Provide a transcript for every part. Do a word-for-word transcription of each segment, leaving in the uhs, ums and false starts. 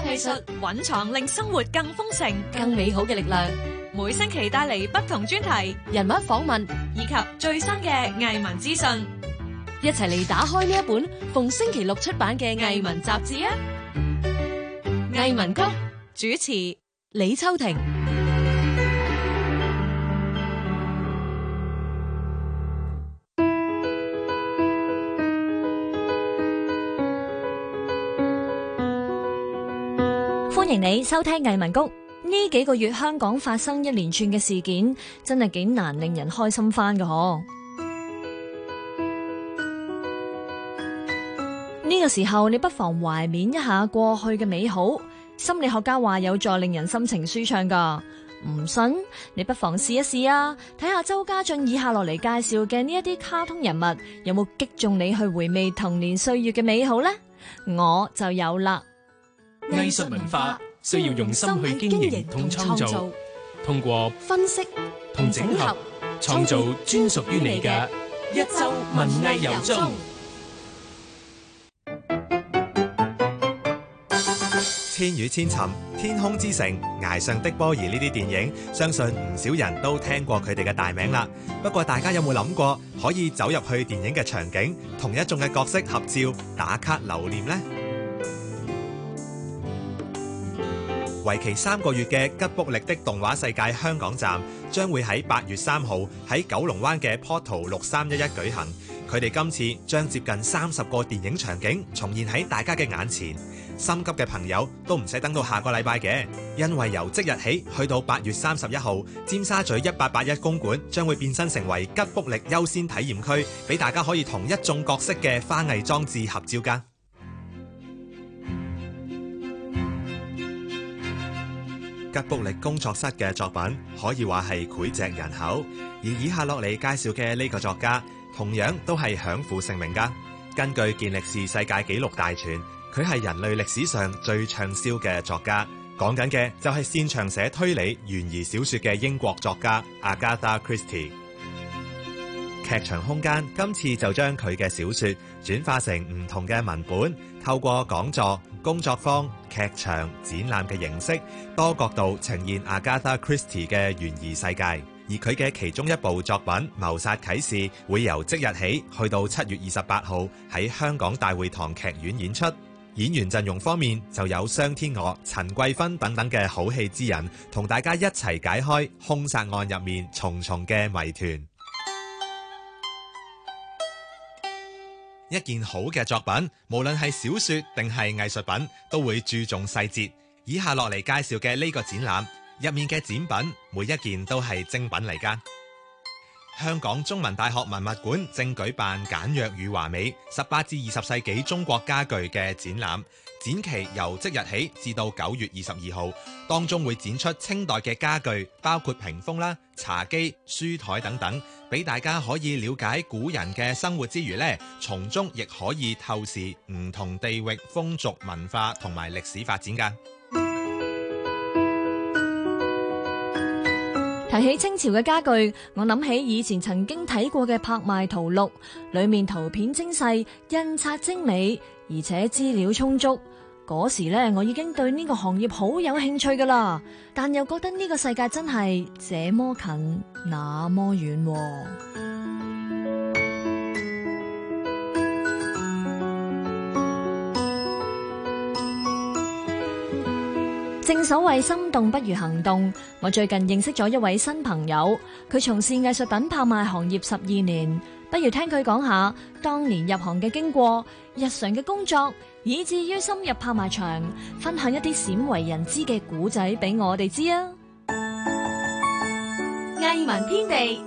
藝術蘊藏令生活更豐盛、更美好嘅力量。每星期帶嚟不同專題、 人物訪問以及最新嘅藝文資訊， 一齊嚟打開呢一本逢星期六出版嘅藝文雜誌啊！藝文谷主持李秋婷。 歡迎你收聽藝文谷。呢幾個月香港發生一連串嘅事件，真係幾難令人開心翻㗎嗬。呢個時候你不妨懷緬一下過去嘅美好，心理學家話有助令人心情舒暢㗎。唔信你不妨試一試啊，睇下周家俊以下落嚟介紹嘅呢一啲卡通人物有冇擊中你去回味童年歲月嘅美好呢？我就有啦。 藝術文化需要用心去經營同創造，通過分析同整合，創造專屬於你嘅一周文藝遊蹤。 千與千尋、天空之城、崖上的波兒呢啲電影，相信唔少人都聽過佢哋嘅大名啦。不過大家有冇諗過，可以走入去電影嘅場景，同一眾嘅角色合照、打卡留念呢？為期三個月嘅吉卜力的動畫世界香港站將會喺八月三號喺九龍灣嘅 Portal 六三一一舉行。佢哋今次將接近三十個電影場景重現喺大家嘅眼前。心急嘅朋友都唔使等到下個禮拜嘅，因為由即日起去到八月三十一號，尖沙咀一八八一公館將會變身成為吉卜力優先體驗區，俾大家可以同一眾角色嘅花藝裝置合照㗎。吉卜力工作室嘅作品可以話係膾炙人口，而以下落嚟介紹嘅呢個作家同樣都係享負盛名㗎。根據健力士世界紀錄大全，佢係人類歷史上最暢銷嘅作家。講緊嘅就係擅長寫推理懸疑小說嘅英國作家 Agatha Christie。劇場空間今次就將佢嘅小說轉化成唔同嘅文本，透過講座、工作坊、劇場、展覽嘅形式，多角度呈現 Agatha Christie 嘅懸疑世界。而佢嘅其中一部作品《謀殺啟示》會由即日起去到七月二十八號喺香港大會堂劇院演出。演員陣容方面就有雙天鵝、陳桂芬等等嘅好戲之人，同大家一齊解開兇殺案入面重重嘅謎團。一件好嘅作品，無論係小說定係藝術品，都會注重細節。以下落嚟介紹嘅呢個展覽入面嘅展品，每一件都係精品嚟㗎。香港中文大學文物館正舉辦簡約與華美十八至二十世紀中國家具嘅展覽，展期由即日起至到九月二十二號，當中會展出清代嘅家具，包括屏風啦、茶几、書台等等，俾大家可以了解古人嘅生活之餘呢，從中亦可以透視唔同地域風俗文化同埋歷史發展㗎。 提起清朝嘅家具，我諗起以前曾經睇過嘅拍賣圖錄，裏面圖片精細，印刷精美，而且資料充足。嗰時呢，我已經對呢個行業好有興趣噶啦，但又覺得呢個世界真係這麼近，那麼遠喎。正所謂心動不如行動，我最近認識咗一位新朋友，佢從事藝術品拍賣行業十二年，不如聽佢講下當年入行嘅經過、日常嘅工作，以至於深入拍賣場，分享一啲鮮為人知嘅古仔俾我哋知啊！ 藝文天地。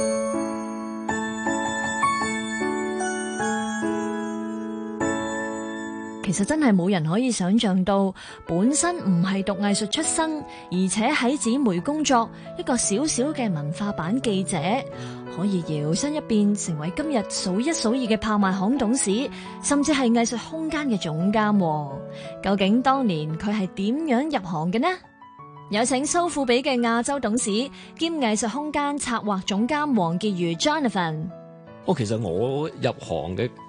其實真係冇人可以想象到，本身唔係讀藝術出身，而且喺紙媒工作，一個小小嘅文化版記者，可以搖身一變成為今日數一數二嘅拍賣行董事，甚至係藝術空間嘅總監。究竟當年佢係點樣入行嘅呢？有請蘇富比嘅亞洲董事兼藝術空間策劃總監黃傑如 Jonathan。 我其實我入行嘅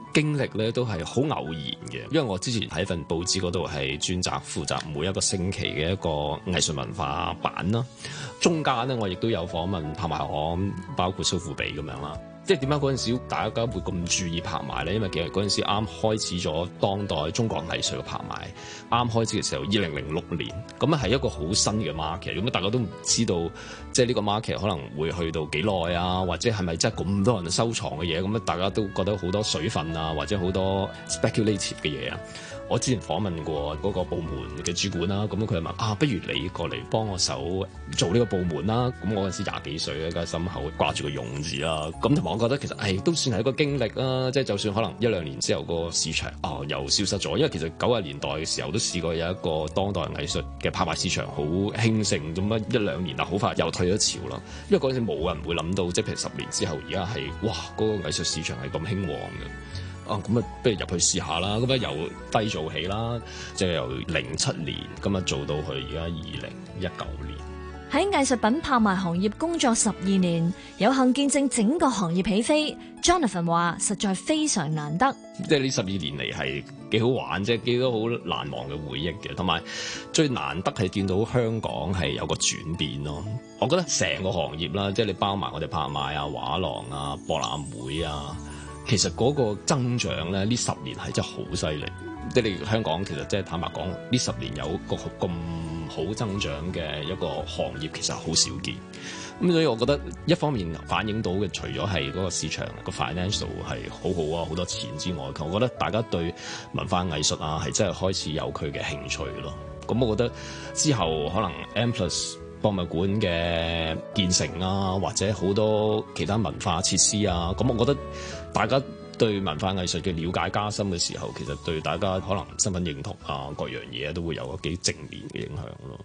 經歷咧都係好偶然嘅，因為我之前喺份報紙嗰度係專責負責每一個星期嘅一個藝術文化版啦，中間咧我亦都有訪問拍賣行，包括蘇富比咁樣啦。即係點解嗰陣時大家會咁注意拍賣咧？因為其實嗰陣時啱開始咗當代中國藝術嘅拍賣，啱開始嘅時候，二零零六年，咁啊係一個好新嘅 market，咁大家都唔知道，即係呢個 market 可能會去到幾耐啊，或者係咪真係咁多人收藏嘅嘢？咁大家都覺得好多水分啊，或者好多 speculative 嘅嘢啊。我之前訪問過嗰個部門嘅主管啦，咁佢就問啊，不如你過嚟幫我手做呢個部門啦。咁我嗰陣時廿幾歲咧，梗係心口掛住個勇字啦。咁同埋我覺得其實誒、哎、都算係一個經歷啦。即係就算可能一兩年之後個市場啊又消失咗，因為其實九十年代嘅時候都試過有一個當代藝術嘅拍賣市場好興盛，咁啊一兩年啊好快又退咗潮啦。因為嗰陣時冇人會諗到，即係譬如十年之後而家係哇嗰、嗰個藝術市場係咁興旺嘅。啊，咁啊，不如入去試下啦。咁啊，由低做起啦，即係由零七年咁啊做到去而家二零一九年。 喺藝術品拍賣行業工作十二年，有幸見證整個行業起飛。Jonathan 話：實在非常難得。 即係呢十二年嚟係幾好玩，即係幾多好難忘嘅回憶嘅。同埋最難得係見到香港係有個轉變咯。我覺得成個行業啦，即係你包埋我哋拍賣啊、畫廊啊、博覽會啊。其實嗰個增長咧，呢十年係真係好犀利。即係你香港其實即係坦白講，呢十年有個咁好增長嘅一個行業，其實好少見。咁所以我覺得一方面反映到嘅，除咗係嗰個市場個 financial 係好好啊，好多錢之外，我覺得大家對文化藝術啊係真係開始有佢嘅興趣咯。咁我覺得之後可能 M plus博物館嘅建成啊，或者好多其他文化設施啊，咁我覺得大家對文化藝術嘅了解加深嘅時候，其實對大家可能身份認同啊，各樣嘢都會有個幾正面嘅影響咯。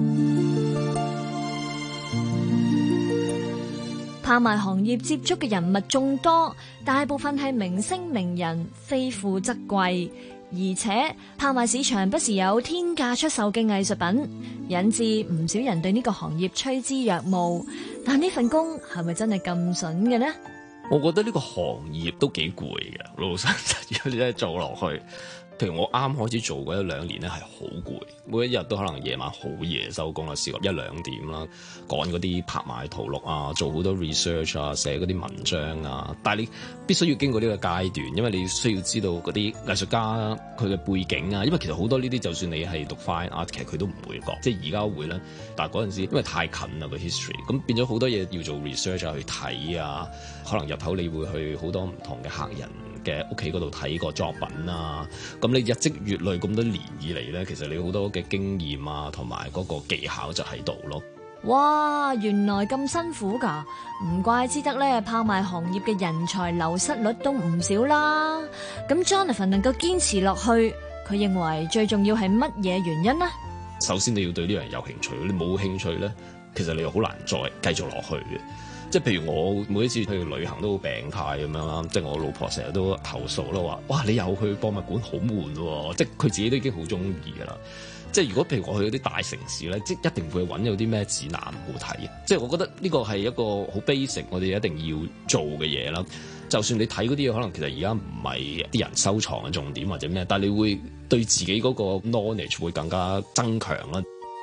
拍賣行業接觸嘅人物眾多，大部分係明星名人，非富則貴。而且拍賣市場不時有天價出售嘅藝術品，引致唔少人對呢個行業趨之若鶩。但呢份工係咪真係咁筍嘅呢？ 我覺得呢個行業都幾攰嘅，老老實實，如果你真係做落去。譬如我啱開始做嗰一兩年咧，係好攰，每一日都可能夜晚好夜收工啦，試過一兩點啦，趕嗰啲拍賣圖錄啊，做好多 research 啊，寫嗰啲文章啊。但係你必須要經過呢個階段，因為你需要知道嗰啲藝術家佢嘅背景啊。因為其實好多呢啲，就算你係讀 fine art，其實佢都唔會講，即係而家會咧。但係嗰陣時因為太近啦個 history，咁變咗好多嘢要做 research 啊，去睇啊。可能入頭你會去好多唔同嘅客人嘅屋企嗰度睇個作品啊，咁你日積月累咁多年以嚟咧，其實你好多嘅經驗啊，同埋嗰個技巧就喺度咯。 哇，原來咁辛苦㗎，唔怪之得咧，拍賣行業嘅人才流失率都唔少啦。咁 Jonathan 能夠堅持落去，佢認為最重要係乜嘢原因呢？ 首先你要對呢樣有興趣，你冇興趣咧，其實你又好難再繼續落去嘅。即係譬如我每一次去旅行都好病態咁樣啦，即係我老婆成日都投訴啦，話哇你又去博物館好悶喎，即係佢自己都已經好中意㗎啦。即係如果譬如我去嗰啲大城市咧，即係一定會揾有啲咩展覽好睇。即係我覺得呢個係一個好 basic，我哋一定要做嘅嘢啦。就算你睇嗰啲嘢，可能其實而家唔係啲人收藏嘅重點或者咩，但係你會對自己嗰個 knowledge 會更加增強啦。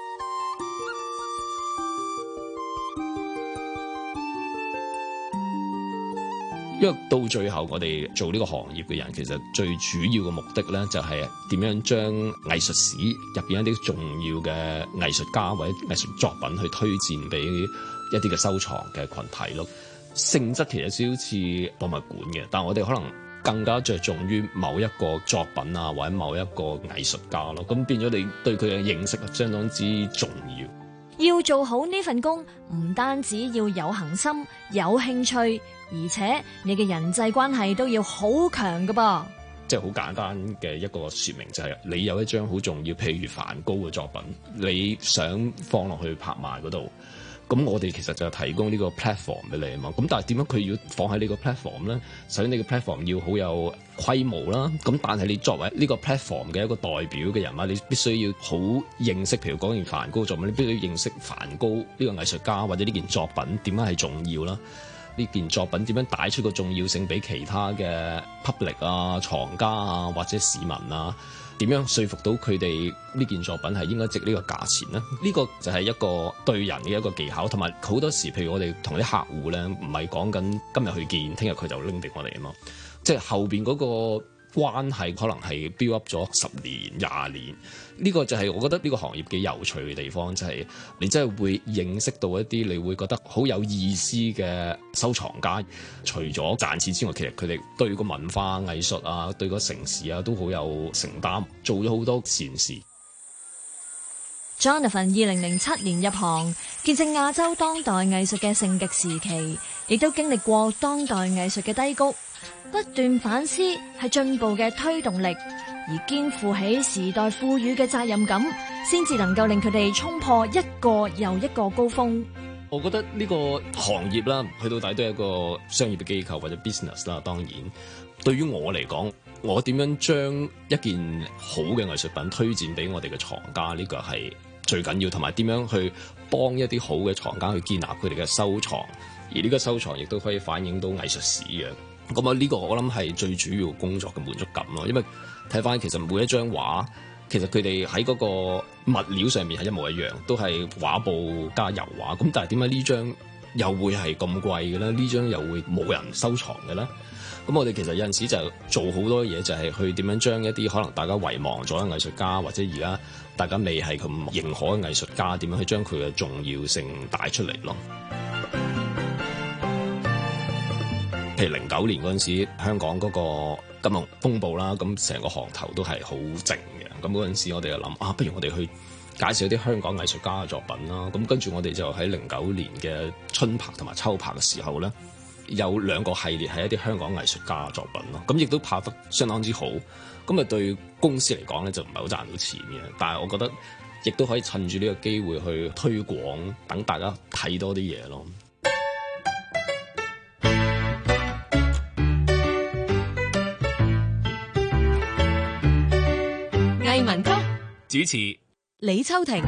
因為到最後，我哋做呢個行業嘅人，其實最主要嘅目的咧，就係點樣將藝術史入邊一啲重要嘅藝術家或者藝術作品去推薦俾一啲嘅收藏嘅群體咯。性質其實少少似博物館嘅，但係我哋可能更加着重於某一個作品啊，或者某一個藝術家咯。咁變咗你對佢嘅認識係相當之重要。 要做好呢份工，唔單止要有恆心、有興趣，而且你嘅人際關係都要好強㗎噃。 即係好簡單嘅一個說明，就係你有一張好重要，譬如梵高嘅作品，你想放落去拍賣嗰度，咁我哋其實就提供呢個 platform 俾你啊嘛。咁但係點樣佢要放喺呢個 platform 咧？首先你個 platform 要好有規模啦。咁但係你作為呢個 platform 嘅一個代表嘅人物，你必須要好認識，譬如講件梵高作品，你必須要認識梵高呢個藝術家或者呢件作品點解係重要啦。 呢件作品點樣帶出個重要性俾其他嘅 public 啊、藏家啊或者市民啊，點樣說服到佢哋呢件作品係應該值呢個價錢呢？呢個就係一個對人嘅一個技巧，同埋好多時譬如我哋同啲客戶咧，唔係講緊今日去見，聽日佢就拎俾我哋啊嘛，即係後邊嗰個關係可能係 build up 咗十年、廿年，呢個就係我覺得呢個行業幾有趣嘅地方，就係你真係會認識到一啲你會覺得好有意思嘅收藏家。除咗賺錢之外，其實佢哋對個文化藝術啊、對個城市啊都好有承擔，做咗好多善事。 Jonathan 二零零七年入行，見證亞洲當代藝術嘅盛極時期，亦都經歷過當代藝術嘅低谷。不斷反思係進步嘅推動力，而肩負起時代賦予嘅責任感，先至能夠令佢哋衝破一個又一個高峰。 我覺得呢個行業啦，去到底都係一個商業嘅機構或者 business 啦。當然，對於我嚟講，我點樣將一件好嘅藝術品推薦俾我哋嘅藏家，呢個係最緊要，同埋點樣去幫一啲好嘅藏家去建立佢哋嘅收藏，而呢個收藏亦都可以反映到藝術史嘅。咁啊，呢個我諗係最主要工作嘅滿足感咯。因為睇翻其實每一張畫，其實佢哋喺嗰個物料上面係一模一樣，都係畫布加油畫。咁但係點解呢張又會係咁貴嘅咧？呢張又會冇人收藏嘅咧？咁我哋其實有陣時就做好多嘢，就係去點樣將一啲可能大家遺忘咗嘅藝術家，或者而家大家未係咁認可嘅藝術家，點樣去將佢嘅重要性帶出嚟咯。譬如零九年嗰陣時，香港嗰個金融風暴啦，咁成個行頭都係好靜嘅。咁嗰陣時，我哋就諗啊，不如我哋去介紹啲香港藝術家嘅作品啦。咁跟住我哋就喺零九年嘅春拍同埋秋拍嘅時候咧，有兩個系列係一啲香港藝術家嘅作品咯。咁亦都拍得相當之好。咁啊，對公司嚟講咧就唔係好賺到錢嘅，但係我覺得亦都可以趁住呢個機會去推廣，等大家睇多啲嘢咯。 藝文谷主持李秋婷。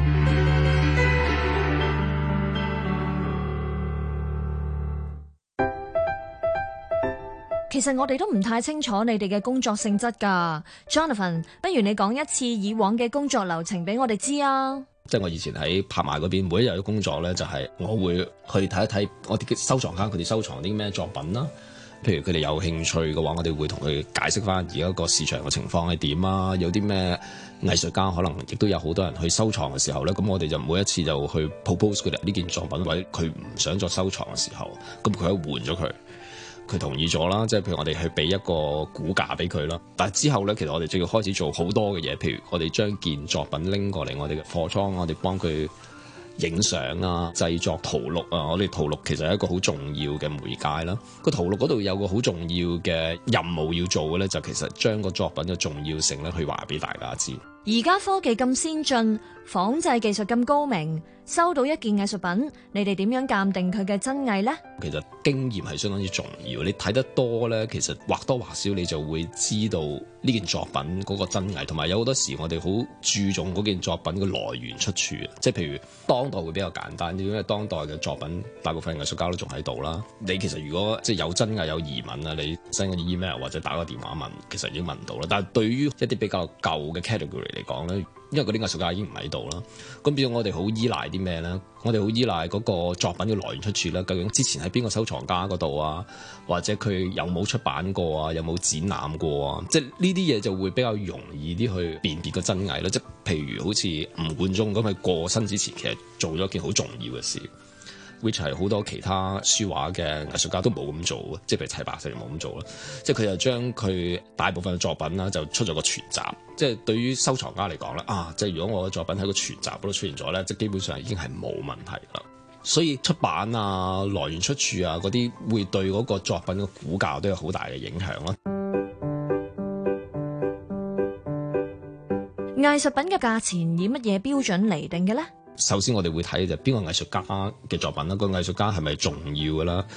其實我哋都唔太清楚你哋嘅工作性質㗎。Jonathan，不如你講一次以往嘅工作流程俾我哋知啊。 即係我以前喺拍賣嗰邊，每一日嘅工作咧，就係我會去睇一睇我哋嘅收藏家佢哋收藏啲咩作品啦。譬如佢哋有興趣嘅話，我哋會同佢解釋翻而家個市場嘅情況係點啊，有啲咩藝術家可能亦都有好多人去收藏嘅時候咧，咁我哋就每一次就去 propose 佢哋呢件作品，或者佢唔想再收藏嘅時候，咁佢可以換咗佢，佢同意咗啦，即係譬如我哋去俾一個估價俾佢啦。但係之後咧，其實我哋就要開始做好多嘅嘢，譬如我哋將件作品拎過嚟我哋嘅貨倉，我哋幫佢影相啊，製作圖錄啊。我哋圖錄其實係一個好重要嘅媒介啦。個圖錄嗰度有個好重要嘅任務要做嘅咧，就其實將個作品嘅重要性咧去話俾大家知。 而家科技咁先進，仿製技術咁高明，收到一件藝術品，你哋點樣鑑定佢嘅真偽呢？ 其實經驗係相當之重要，你睇得多咧，其實或多或少你就會知道呢件作品嗰個真偽，同埋有好多時我哋好注重嗰件作品嘅來源出處，即係譬如當代會比較簡單啲，因為當代嘅作品大部分藝術家都仲喺度啦。你其實如果即係有真偽有疑問啊，你 send 個 email 或者打個電話問，其實已經問到啦。但係對於一啲比較舊嘅 category 嚟講咧，因為嗰啲藝術家已經唔喺度啦，咁變咗我哋好依賴啲咩咧？我哋好依賴嗰個作品嘅來源出處咧，究竟之前喺邊個收藏家嗰度啊，或者佢有冇出版過啊，有冇展覽過啊？即係呢啲嘢就會比較容易啲去辨別個真偽咯。即係譬如好似吳冠中咁，佢過身之前其實做咗一件好重要嘅事，which 係好多其他書畫嘅藝術家都冇咁做嘅，即係譬如齊白石冇咁做啦。即係佢就將佢大部分嘅作品啦，就出咗個全集。即係對於收藏家嚟講咧，啊，即係如果我嘅作品喺個全集嗰度出現咗咧，即係基本上已經係冇問題啦。所以出版啊、來源出處啊嗰啲，會對嗰個作品嘅估價都有好大嘅影響咯。 藝術品嘅價錢以乜嘢標準嚟定嘅咧？首先我哋會睇就邊個藝術家嘅作品啦，個藝術家係咪重要㗎啦？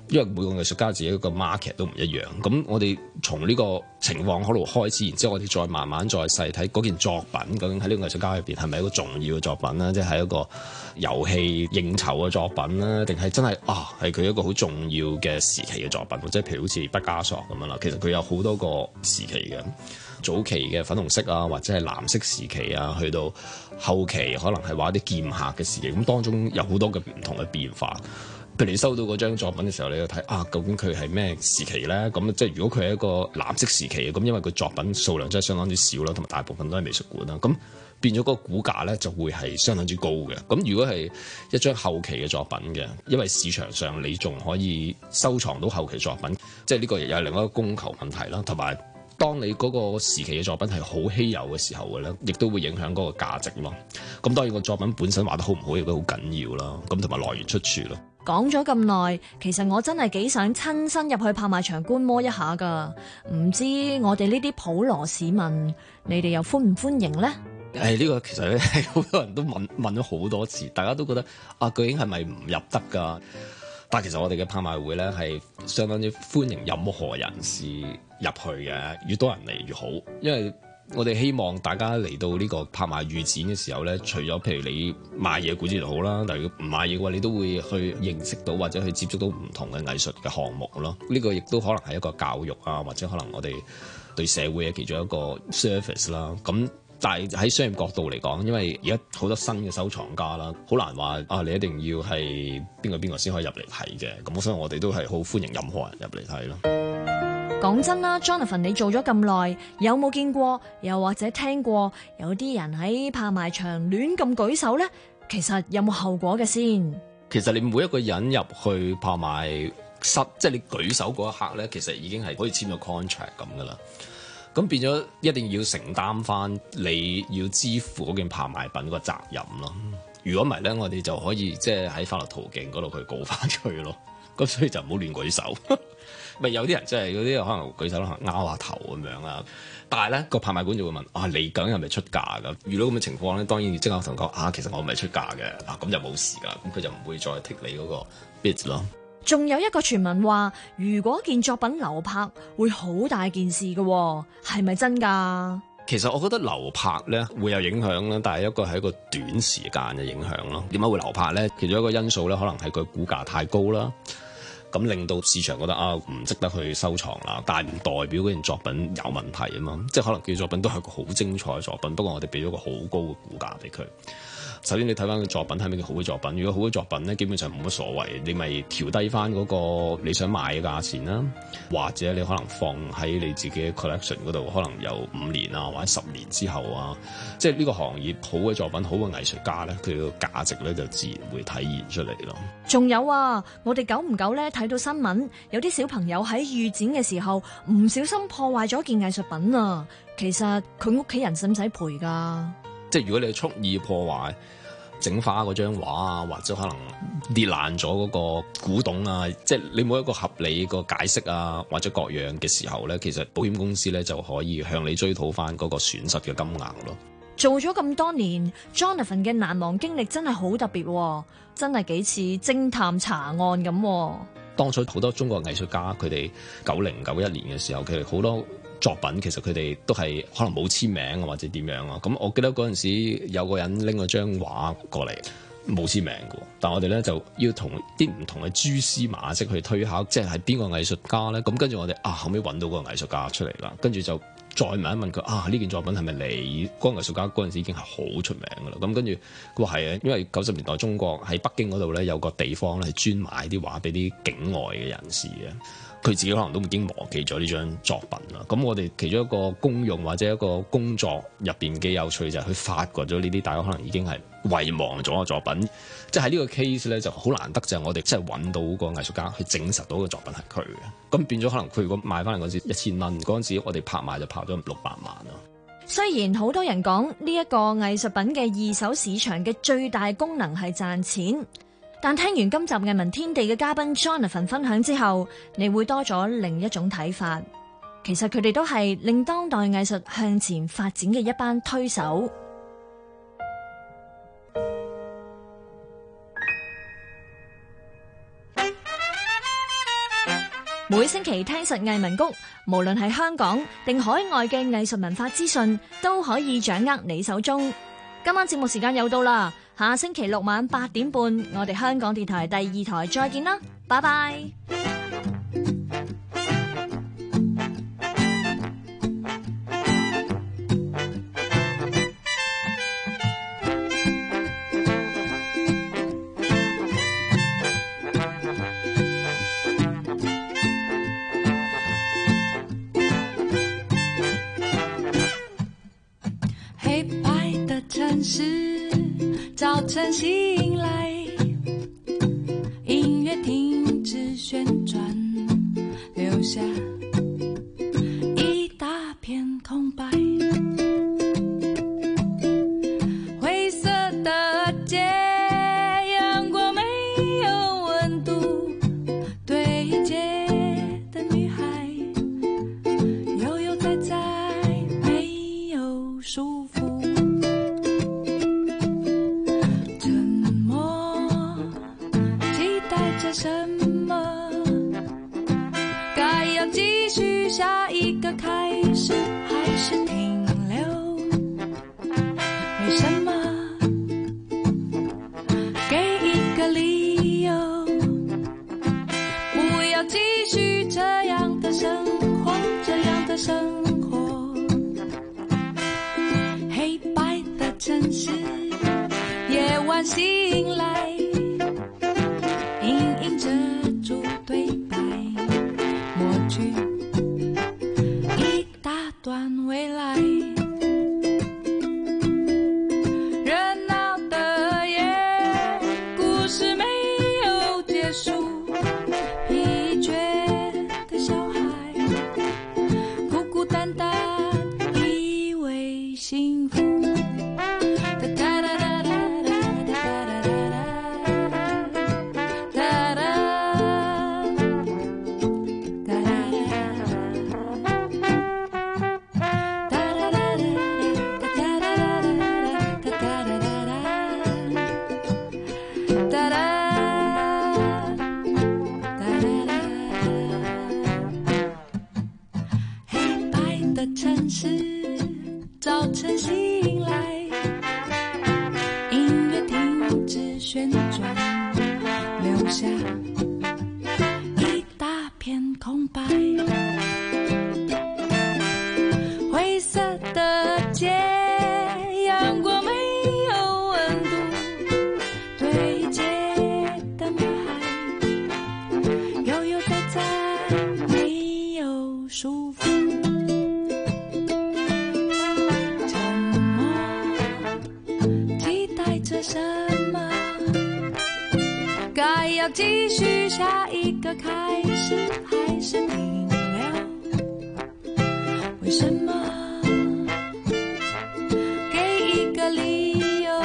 因為每個藝術家自己一個 market 都唔一樣。咁我哋從呢個情況嗰度開始，然之後我哋再慢慢再細睇嗰件作品究竟喺呢個藝術家入邊係咪一個重要嘅作品啦，即係一個遊戲應酬嘅作品啦，定係真係啊係佢一個好重要嘅時期嘅作品，即係譬如好似畢加索咁樣啦。其實佢有好多個時期嘅。早期嘅粉紅色啊，或者係藍色時期啊，去到後期可能係畫啲劍客嘅時期，咁當中有好多嘅唔同嘅變化。譬如你收到嗰張作品嘅時候，你就睇啊，究竟佢係咩時期咧？咁即係如果佢係一個藍色時期嘅，咁因為佢作品數量真係相當之少啦，同埋大部分都係美術館啦，咁變咗嗰個估價咧就會係相當之高嘅。咁如果係一張後期嘅作品嘅，因為市場上你仲可以收藏到後期作品，即係呢個又係另一個供求問題啦，同埋。當你嗰個時期嘅作品係好稀有嘅時候嘅咧，亦都會影響嗰個價值咯。咁當然個作品本身畫得好唔好亦都好緊要啦。咁同埋來源出處咯。 講咗咁耐，其實我真係幾想親身入去拍賣場觀摩一下㗎。唔知我哋呢啲普羅市民，你哋又歡唔歡迎呢？ 誒、哎，呢、這個其實咧係好多人都問問咗好多次，大家都覺得啊，究竟係咪唔入得㗎？但係其實我哋嘅拍賣會咧係相當之歡迎任何人士入去嘅，越多人嚟越好。因為我哋希望大家嚟到呢個拍賣預展嘅時候咧，除咗譬如你買嘢固之就好啦，但係如果唔買嘢嘅話，你都會去認識到或者去接觸到唔同嘅藝術嘅項目咯。呢、這個亦都可能係一個教育啊，或者可能我哋對社會嘅其中一個 service 啦。咁但係喺商業角度嚟講，因為而家好多新嘅收藏家啦，好難話啊，你一定要係邊個邊個先可以入嚟睇嘅。咁所以我哋都係好歡迎任何人入嚟睇咯。 講真啦 ，Jonathan， 你做咗咁耐，有冇見過，又或者聽過有啲人喺拍賣場亂咁舉手咧？其實有冇後果嘅先？ 其實你每一個人入去拍賣室，即係你舉手嗰一刻咧，其實已經係可以簽咗 contract 咁噶啦。咁變咗一定要承擔翻你要支付嗰件拍賣品個責任咯。如果唔係咧，我哋就可以即係喺法律途徑嗰度去告翻佢咯。咁所以就唔好亂舉手。咪有啲人真係嗰啲可能舉手可能拗下頭咁樣啊。但係咧個拍賣館就會問啊，你究竟係咪出價㗎？遇到咁嘅情況咧，當然要即刻同佢講啊，其實我唔係出價嘅啊，咁就冇事㗎。咁佢就唔會再剔你嗰個 bid 咯。 仲有一個傳聞話，如果件作品流拍會好大件事嘅，係咪真㗎？ 其實我覺得流拍咧會有影響啦，但係一個係一個短時間嘅影響咯。點解會流拍咧？其中一個因素咧，可能係佢估價太高啦，咁令到市場覺得啊唔值得去收藏啦。但係唔代表嗰件作品有問題啊嘛，即係可能件作品都係個好精彩嘅作品，不過我哋俾咗個好高嘅估價俾佢。首先你睇翻個作品係咪件好嘅作品？如果好嘅作品咧，基本上冇乜所謂，你咪調低翻嗰個你想買嘅價錢啦，或者你可能放喺你自己嘅 collection 嗰度，可能有五年啊或者十年之後啊，即係呢個行業好嘅作品、好嘅藝術家咧，佢個價值咧就自然會體現出嚟咯。 仲有啊，我哋久唔久咧睇到新聞，有啲小朋友喺預展嘅時候唔小心破壞咗件藝術品啊，其實佢屋企人使唔使賠㗎？ 即係如果你蓄意破壞、整花嗰張畫啊，或者可能跌爛咗嗰個古董啊，即係你冇一個合理個解釋啊，或者各樣嘅時候咧，其實保險公司咧就可以向你追討翻嗰個損失嘅金額咯。 做咗咁多年 ，Jonathan 嘅難忘經歷真係好特別，真係幾似偵探查案咁。當初好多中國藝術家佢哋九零九一年嘅時候，佢哋好多作品其實佢哋都係可能冇簽名啊，或者點樣啊。咁我記得嗰陣時有個人拎咗張畫過嚟冇簽名嘅，但我哋咧就要同啲唔同嘅蛛絲馬跡去推敲，即係係邊個藝術家咧。咁跟住我哋啊後尾揾到個藝術家出嚟啦，跟住就再問一問佢啊，呢件作品係咪你嗰個藝術家嗰陣時已經係好出名嘅啦？咁跟住佢話係啊，因為九十年代中國喺北京嗰度咧有個地方咧係專買啲畫俾啲境外嘅人士嘅。佢自己可能都已經忘記咗呢張作品啦。咁我哋其中一個功用或者一個工作入邊幾有趣就係去發掘咗呢啲大家可能已經係遺忘咗嘅作品。即係喺呢個 case 咧就好難得，就係我哋真係揾到個藝術家去證實到個作品係佢嘅。咁變咗可能佢如果賣翻嚟嗰時一千蚊，嗰陣時我哋拍賣就拍咗六百萬咯。 雖然好多人講呢一個藝術品嘅二手市場嘅最大功能係賺錢，但聽完今集藝文天地嘅嘉賓 Jonathan 分享之後，你會多咗另一種睇法。其實佢哋都係令當代藝術向前發展嘅一班推手。 每星期聽實藝文谷，無論係香港定海外嘅藝術文化資訊，都可以掌握你手中。今晚節目時間又到啦，下星期六晚八點半，我哋香港電台第二台再見啦，拜拜。 早晨醒来，音乐停止旋转，留下一大片空白。灰色的街，阳光没有温度，对街的女孩悠悠哉哉，没有束缚。什么该要继续下一个开始，还是停留？为什么给一个理由，不要继续这样的生活，这样的生活。黑白的城市，夜晚醒来，遮住对白，抹去一大段未来。热闹的夜，故事没有结束，疲倦的小孩，孤孤单单以为幸福。早晨醒来，音乐停止旋转，留下一大片空白。灰色的街，阳光没有温度，对街的女孩悠悠哉哉，没有束缚。什么该要继续下一个开始，还是停留？为什么给一个理由，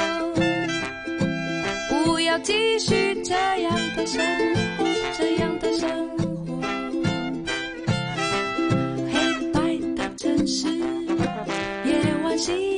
不要继续这样的生活，这样的生活。黑白的城市，夜晚醒